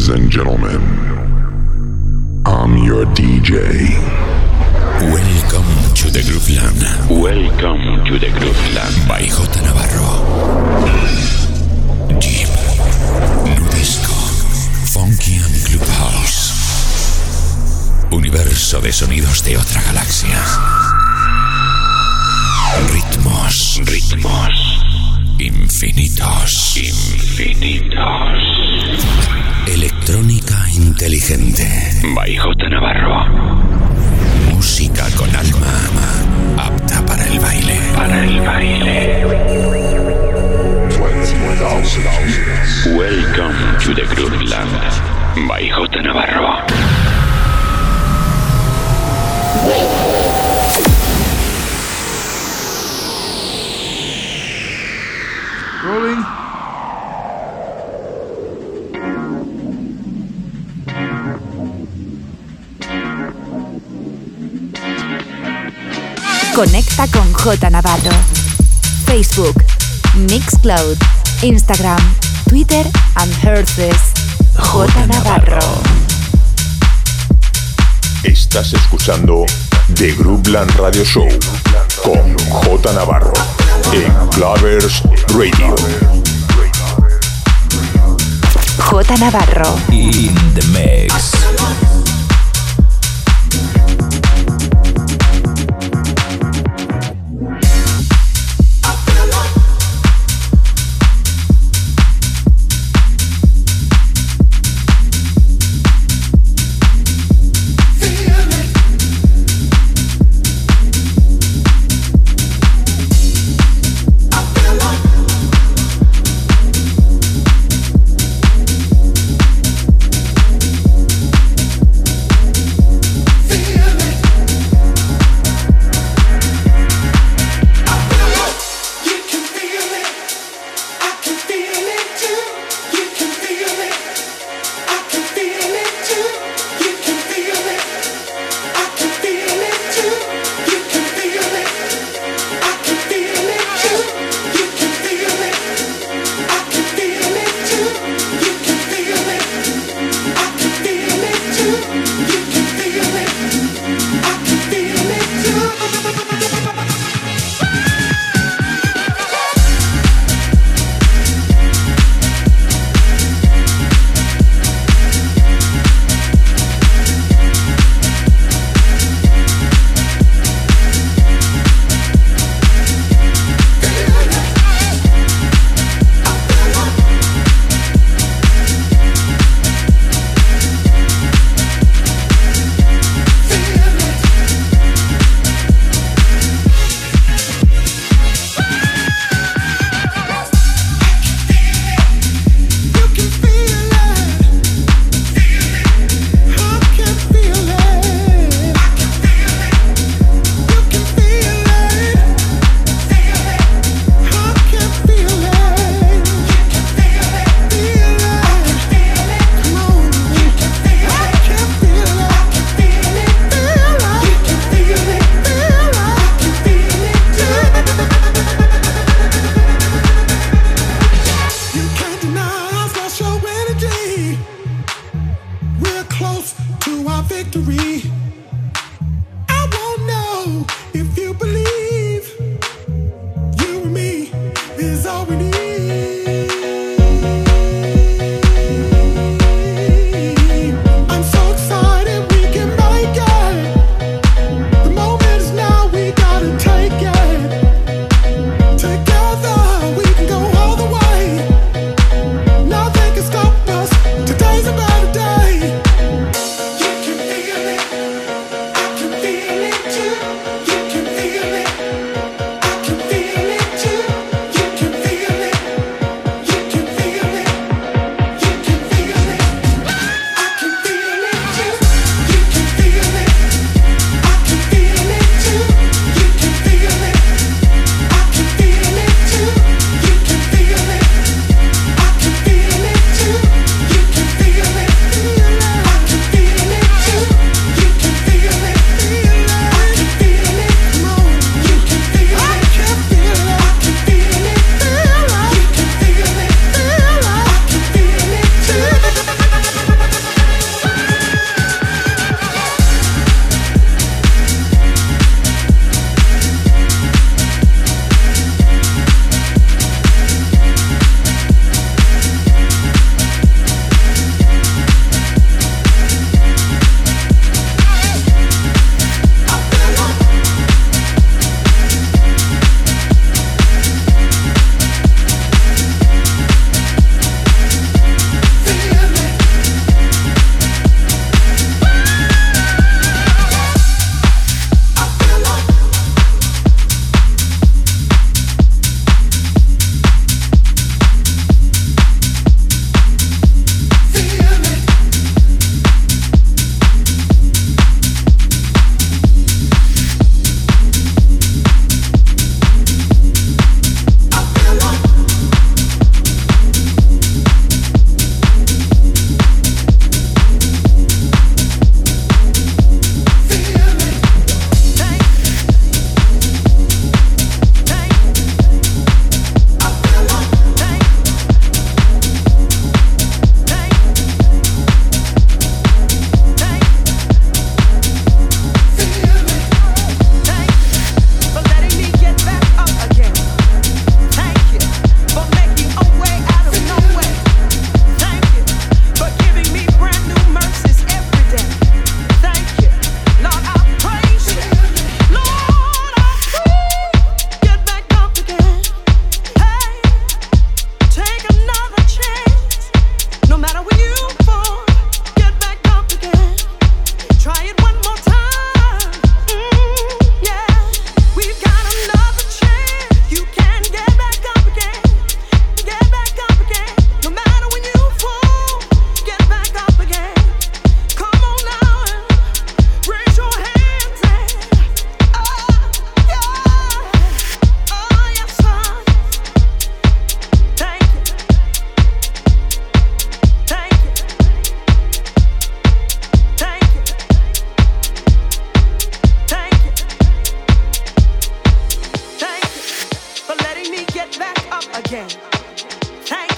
Ladies and gentlemen, I'm your DJ. Welcome to the Grooveland. Welcome to the Grooveland. By J. Navarro. Deep, nu disco, funky and clubhouse. Universo de sonidos de otra galaxia. Ritmos infinitos. Electrónica inteligente. By J. Navarro. Música con alma, apta para el baile. Welcome to the Grooveland. By J. Navarro. Rolling. Conecta con J. Navarro. Facebook, Mixcloud, Instagram, Twitter and Herces. J. Navarro. Estás escuchando The Grooveland Radio Show con J. Navarro en Clavers Radio. J. Navarro. In the mix.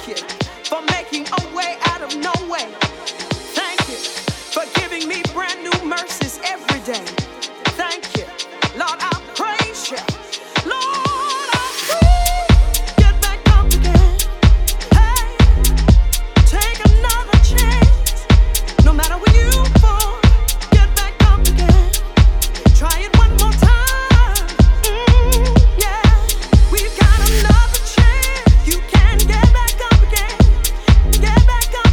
you for making a way out of no way. Thank you for giving me brand new mercies every day. Thank you, Lord, I praise you. Lord, I praise. Get back up again. Hey, take another chance. No matter when you fall, get back up again. Try it one more time. Yeah, we've got another chance. You can get back up again. Get back up.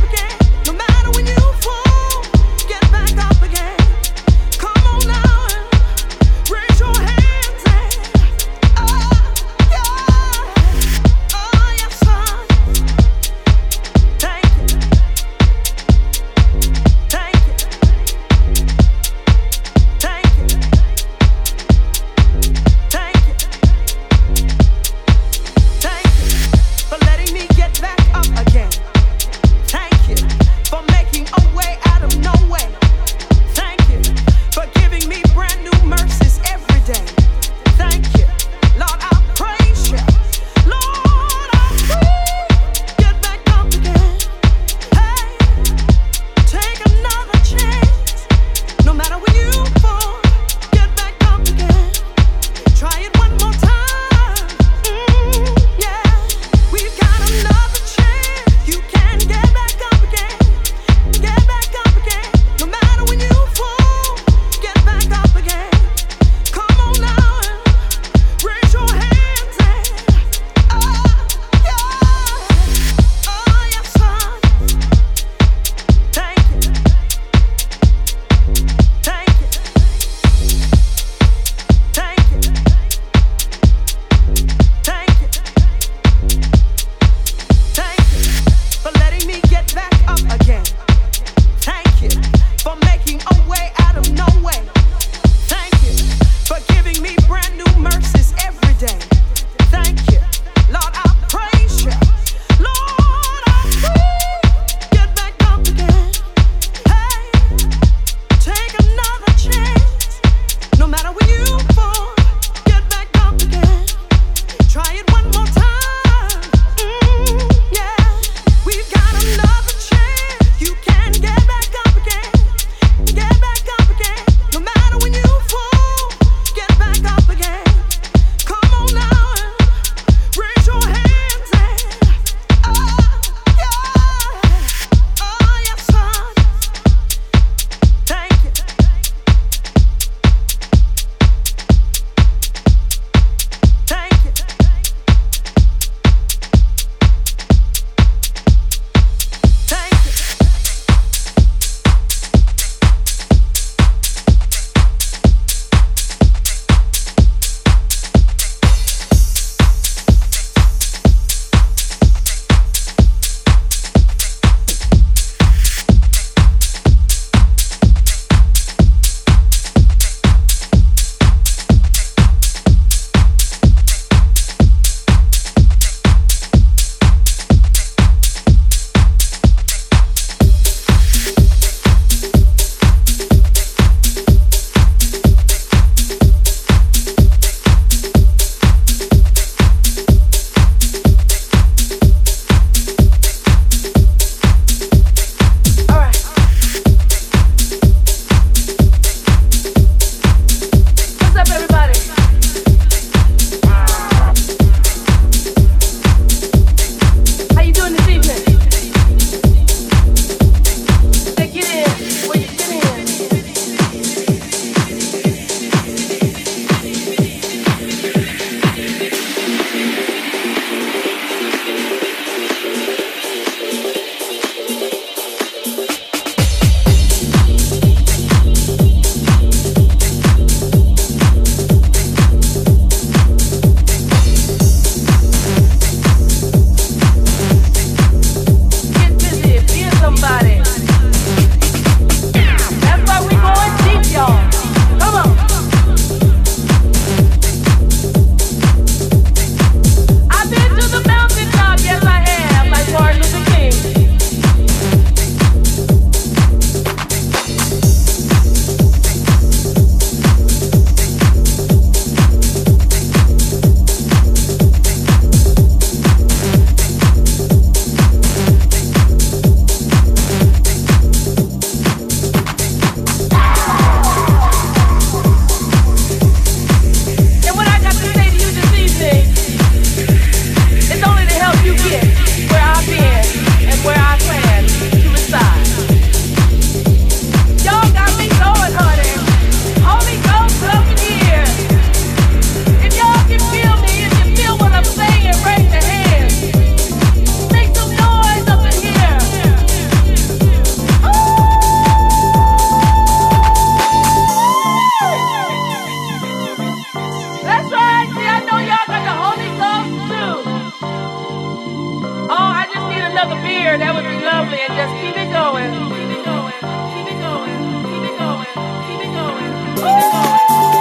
another beer, that would be lovely, and just keep it going. Keep it going. Keep it going. Keep it going. Keep it going. Keep it going.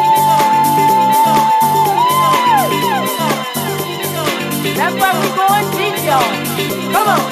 That's why we're going deep, y'all. Come on.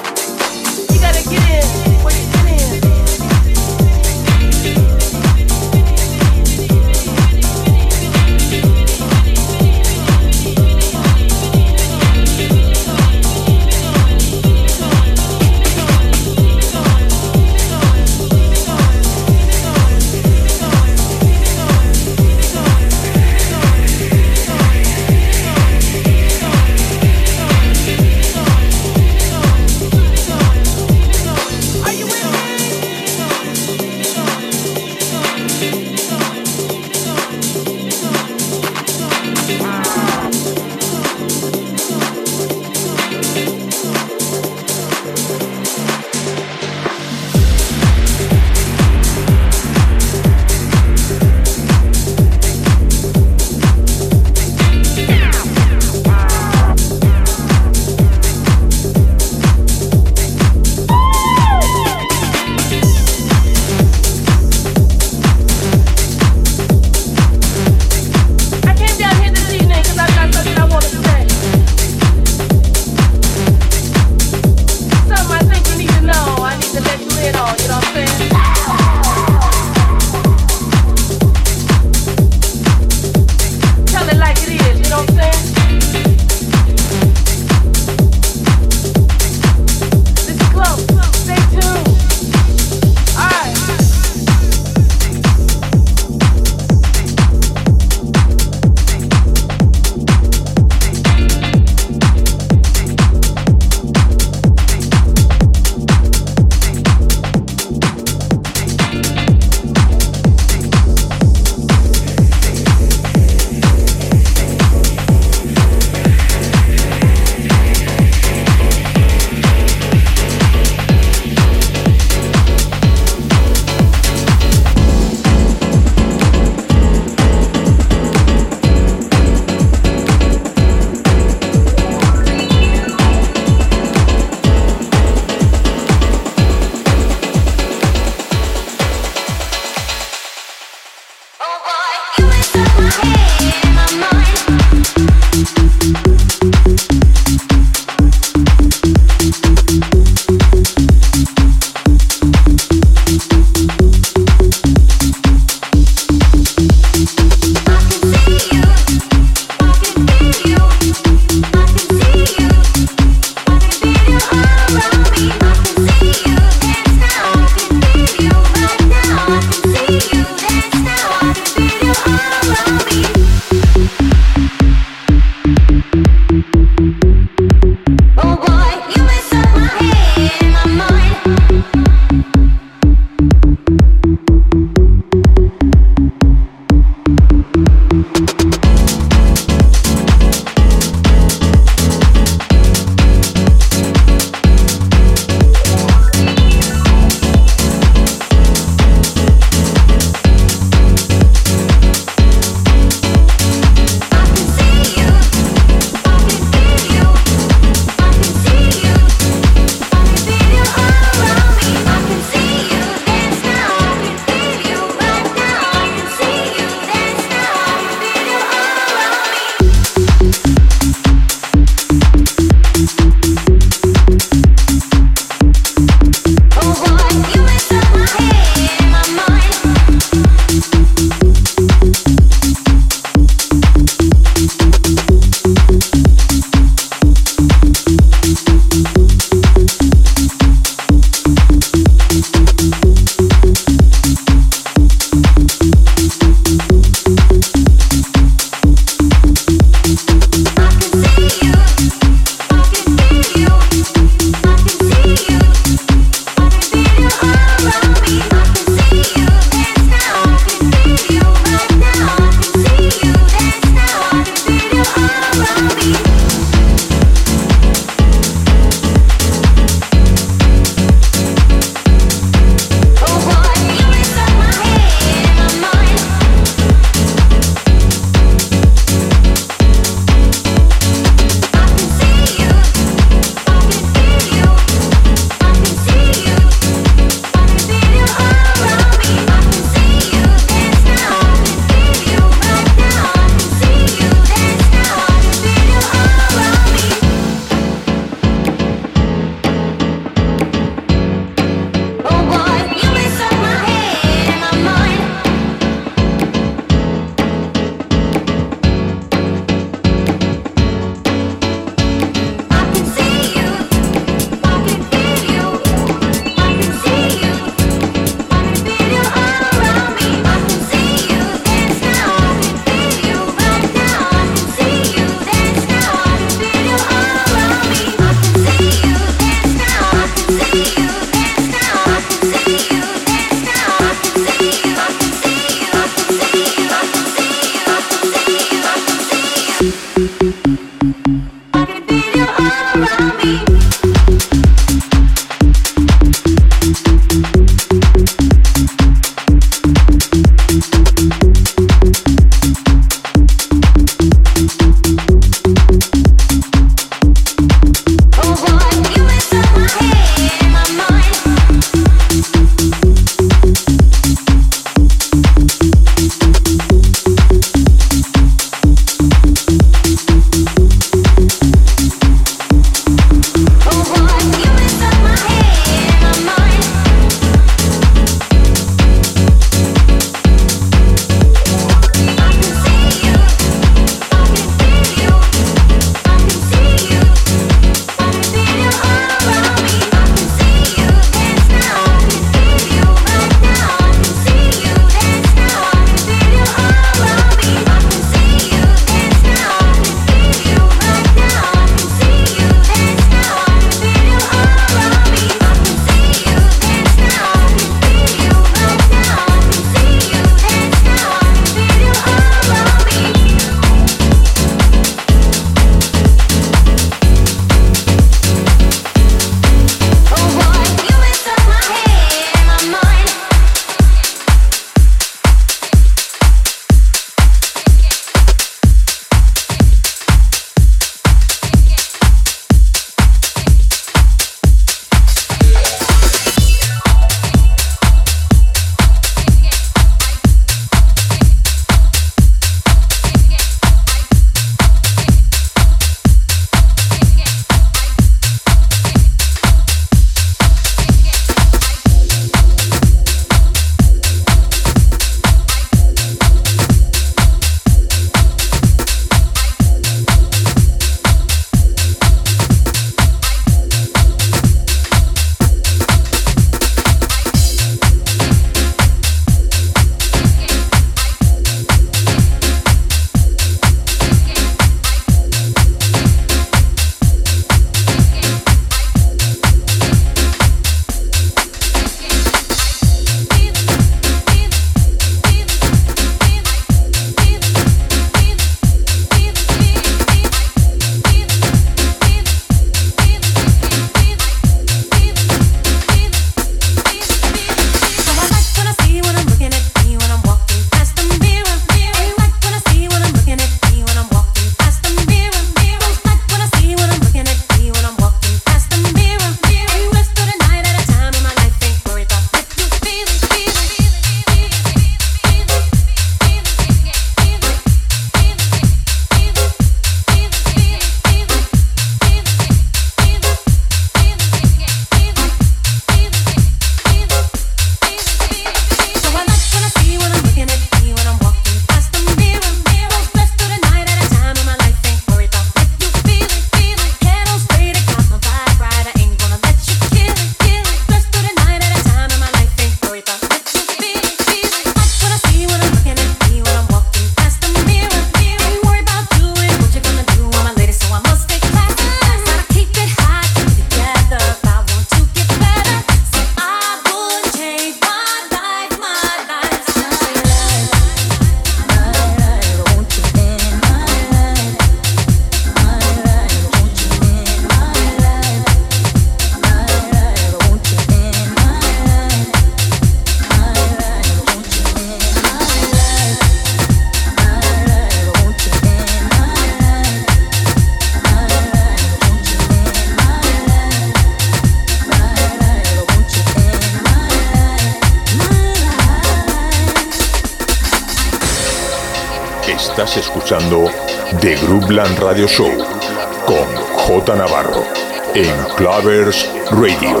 Estás escuchando The Groupland Radio Show con J Navarro en Clavers Radio.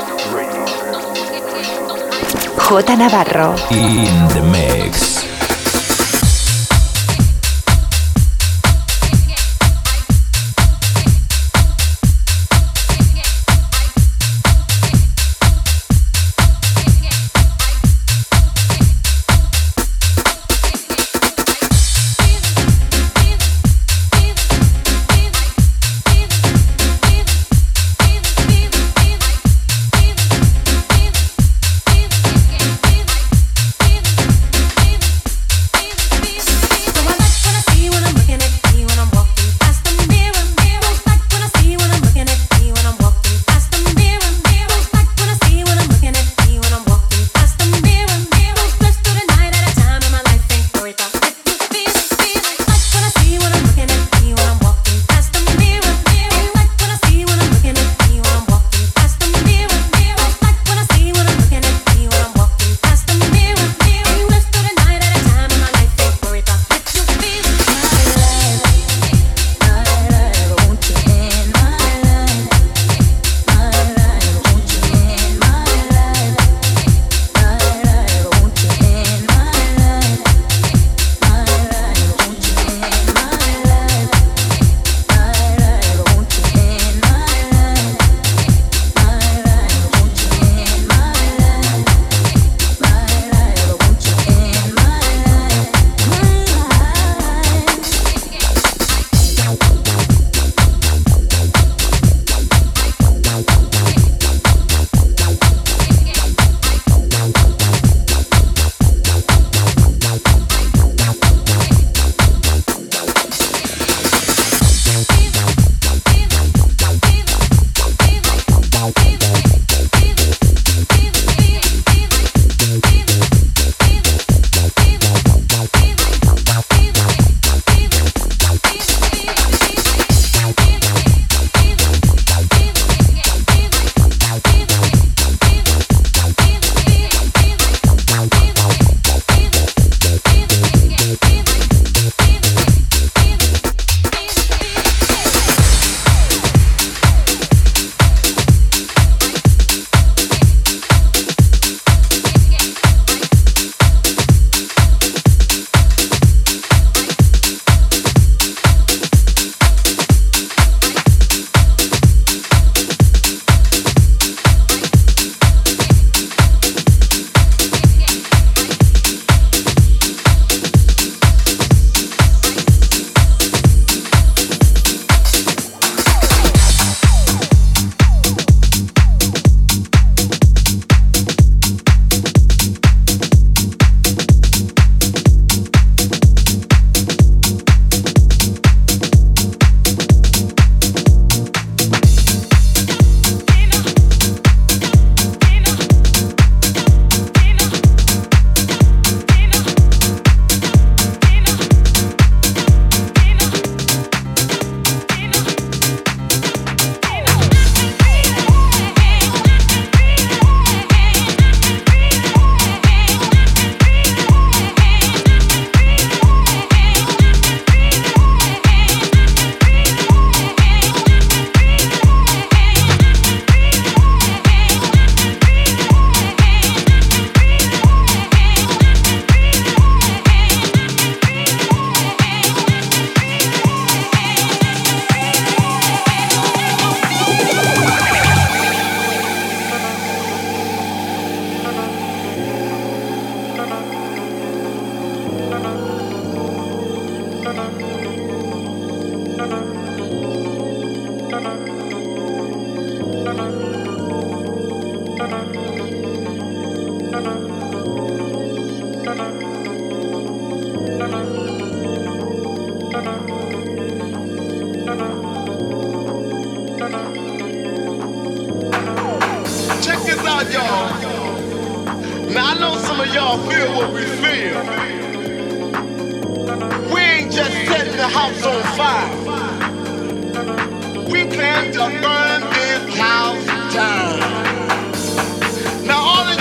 J Navarro In the mix.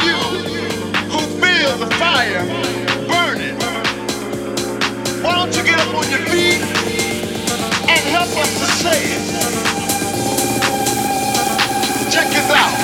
Why don't you get on your feet and help us to say it. Check this out.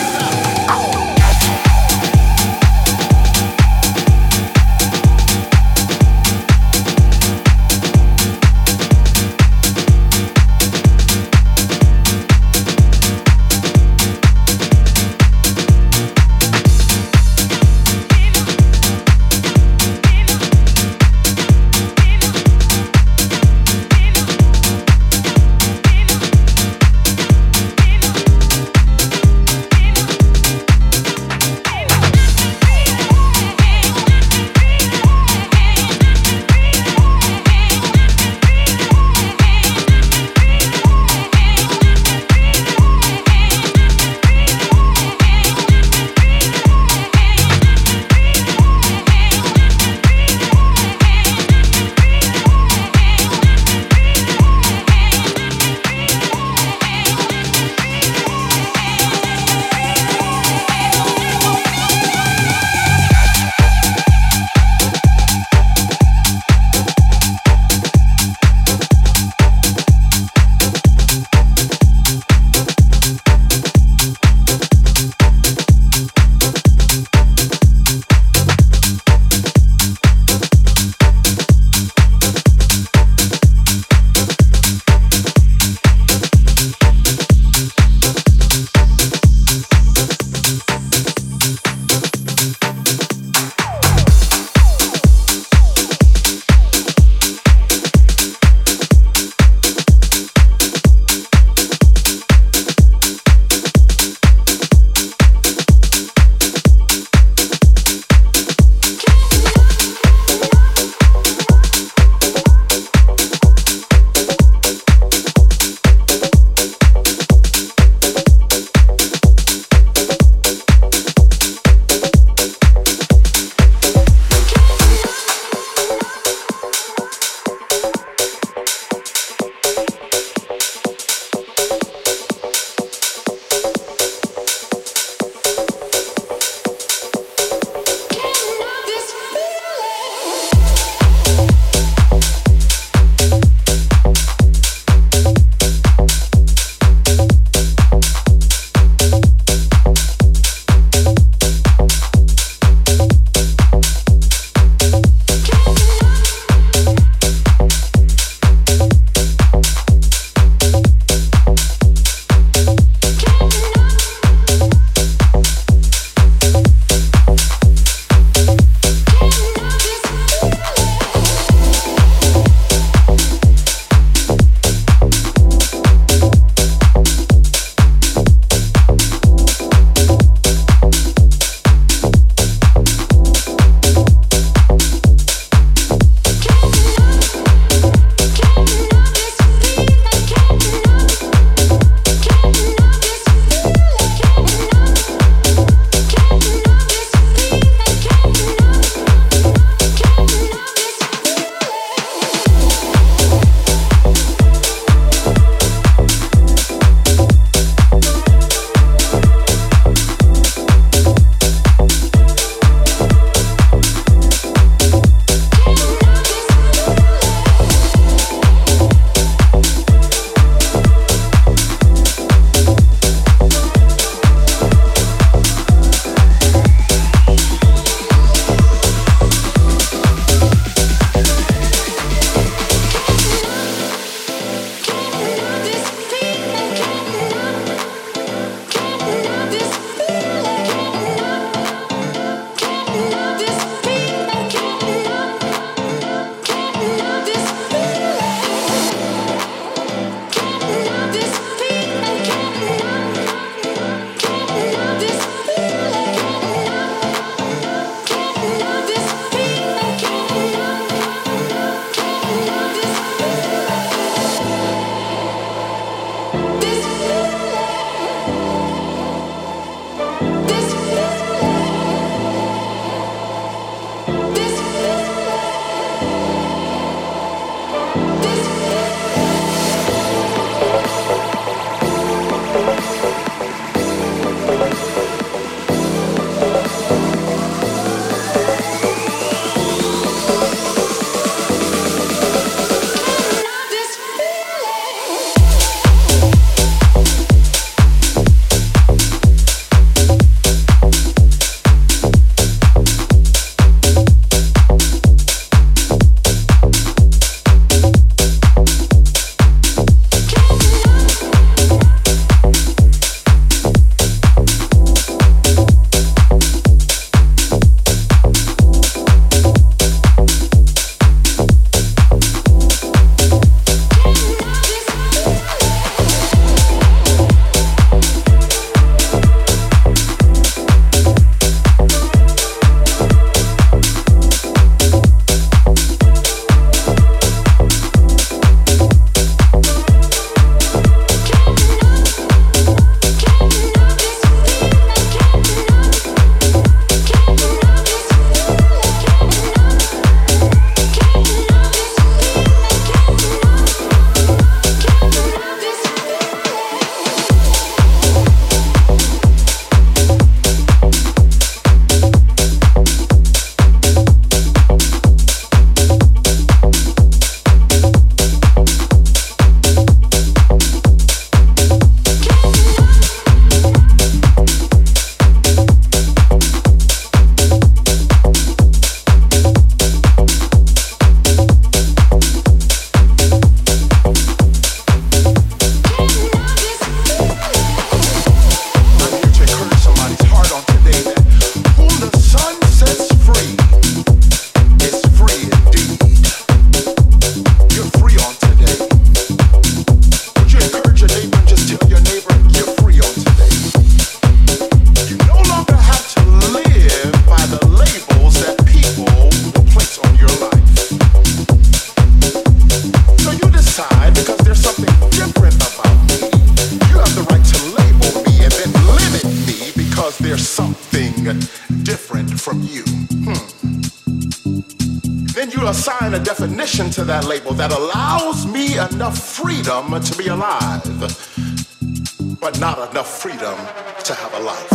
to assign a definition to that label that allows me enough freedom to be alive, but not enough freedom to have a life.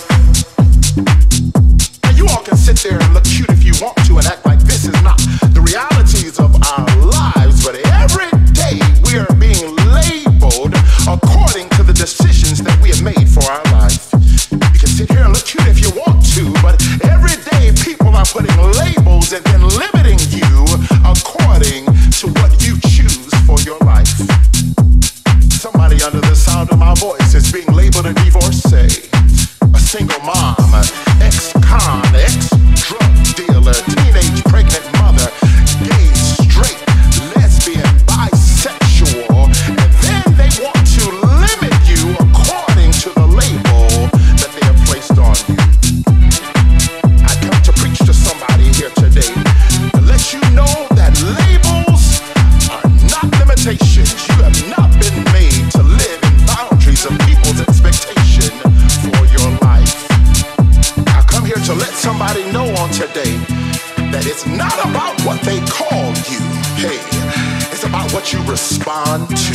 Now you all can sit there and look cute if you want to and act like this is not the realities of our lives, but every day we are being labeled according to the decisions that we have made for our life. You can sit here and look cute if you want to, but every day people are putting labels and then limiting you according to what you choose for your life. Somebody under the sound of my voice is being labeled a divorcee, a single mom, ex-con, ex-drug dealer, teenage pregnant mother, gay, straight, lesbian, bisexual, and then they want to limit you according to the label that they have placed on you. I come to preach to somebody here today to let you know that labels are not limitations. You have not been made to live in boundaries of people's expectation for your life. I come here to let somebody know on today that it's not about what they call you. Hey, it's about what you respond to.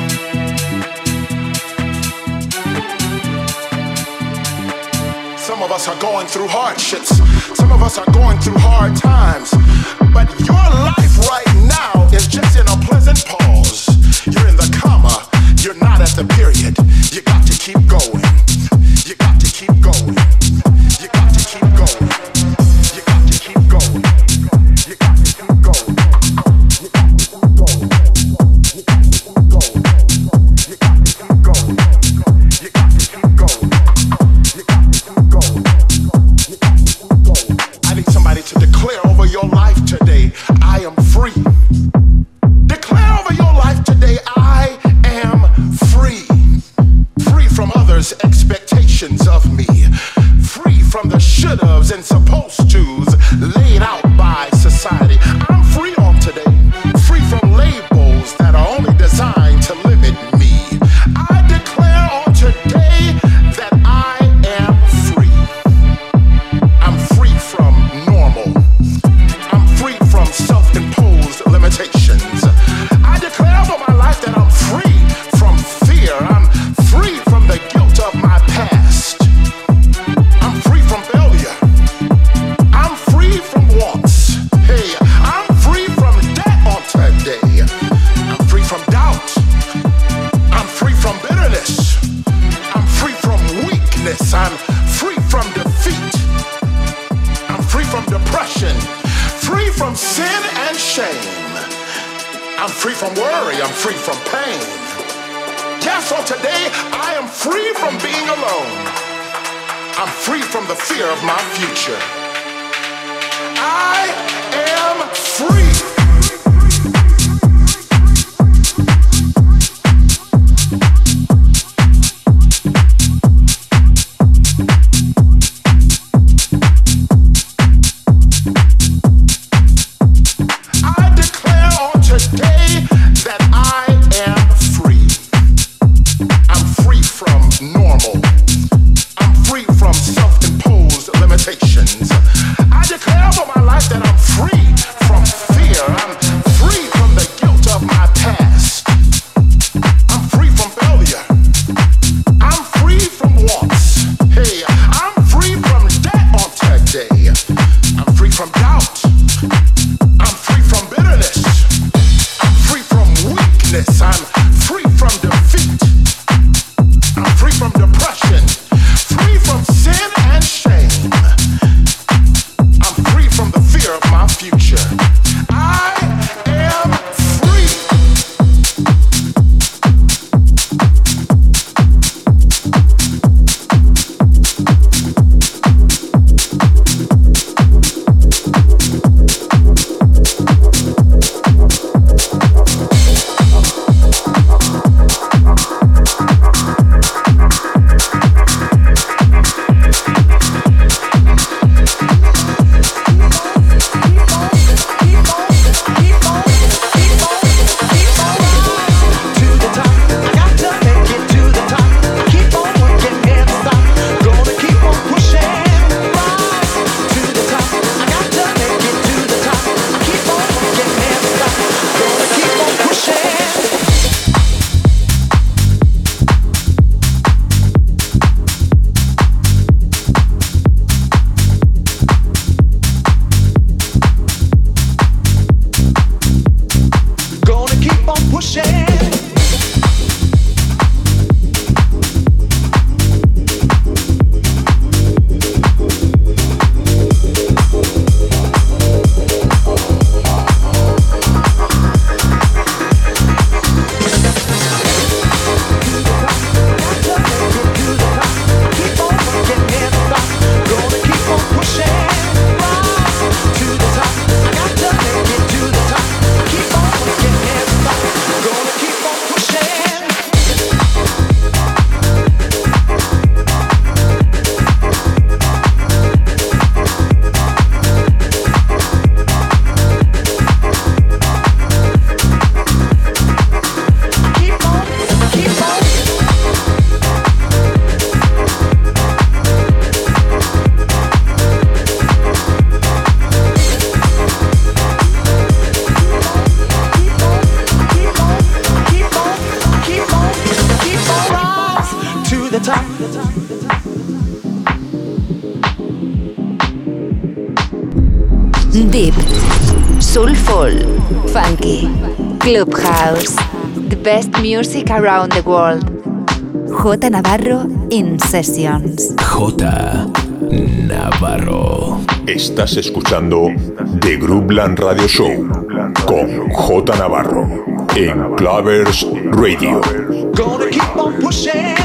Some of us are going through hardships. Some of us are going through hard times. But your life right now is just in a pleasant pause. You're in the comma. You're not at the period. You got to keep going. You got to keep going. You got to keep going. You got to keep going. You got to keep going. You got to keep going. You got to keep going. You got to keep going. You got to keep going. You got to keep going. You got to keep going. I need somebody to declare over your life today, I am free. Declare over your life today, I am free. Free from others' expectations of me. Free from the should-haves and supposed-tos laid out by society. I'm free on today. Free from labels that are only designed to limit me. I declare on today that I am free. I'm free from normal. I'm free from self-imposed limitations. I declare over my life that I'm free from fear. I'm free from the guilt of my past. I'm free from failure. I'm free from wants. Hey, I'm free from debt on today. I'm free from doubt. I'm free from bitterness. I'm free from weakness. I'm free from defeat. I'm free from depression. Free from sin and shame. I'm free from worry. I'm free from pain. Yes, so today I am free from being alone. I'm free from the fear of my future. I am free. I declare on today that I am free. I'm free from normal. I'm free from self-imposed limitations. I declare over my life that I'm free from fear. Deep, soulful, funky, clubhouse, the best music around the world. J. Navarro in Sessions. J. Navarro. Estás escuchando The Groupland Radio Show con J. Navarro en Clavers Radio. Gonna keep on pushing.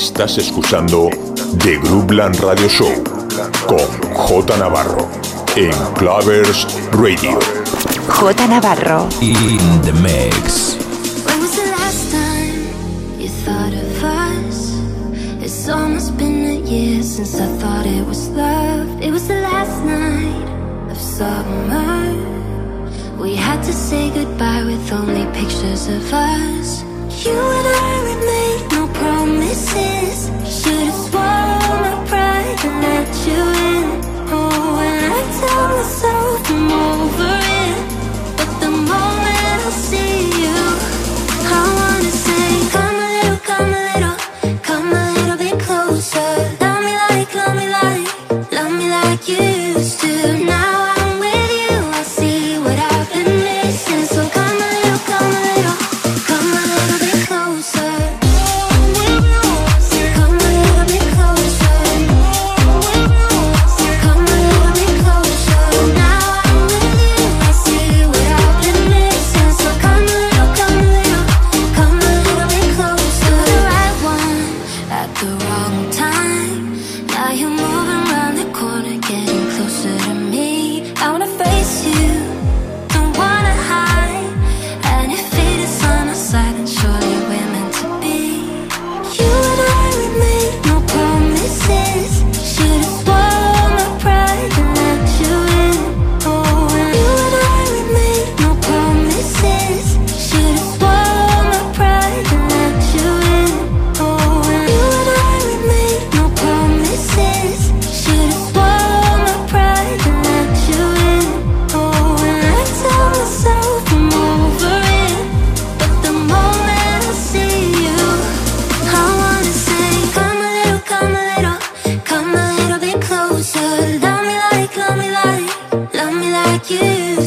Estás escuchando The Groupland Radio Show con J Navarro en Clovers Radio. J Navarro in the mix. When was the last time you thought of us? It's almost been a year since I thought it was love. It was the last night of summer. We had to say goodbye with only pictures of us. You and I, we made no promises. Should've swallowed my pride and let you in. Oh, and I tell myself I'm over it, but the moment I see you, I wanna say, come a little, come a little, come a little bit closer. Love me like, love me like, love me like you used to. Now I'm with you, I see what I've been missing. So come a little, come a little, come a little bit closer. Come a little bit closer. Come a little bit closer. Now I'm with you, I see what I've been missing. So come a little, come a little, come a little bit closer. The right one at the wrong time. Now you're moving around the corner, getting closer to me. I wanna face you, don't wanna hide. And if fate is on our side, then surely we're meant to be. You and I, we made no promises. Should've swallowed my pride and let you in. Oh, and you and I, we made no promises. Should've swallowed my pride and let you in. Oh, and you and I, we made no promises. Should've swallowed my pride and let you in. Oh, and I tell myself I'm over it, but the moment I see you, I wanna say, come a little, come a little, come a little bit closer. Love me like, love me like, love me like you used